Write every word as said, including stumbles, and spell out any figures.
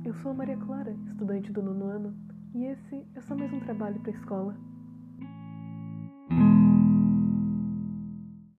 Eu sou a Maria Clara, estudante do nono ano, e esse é só mais um trabalho para a escola.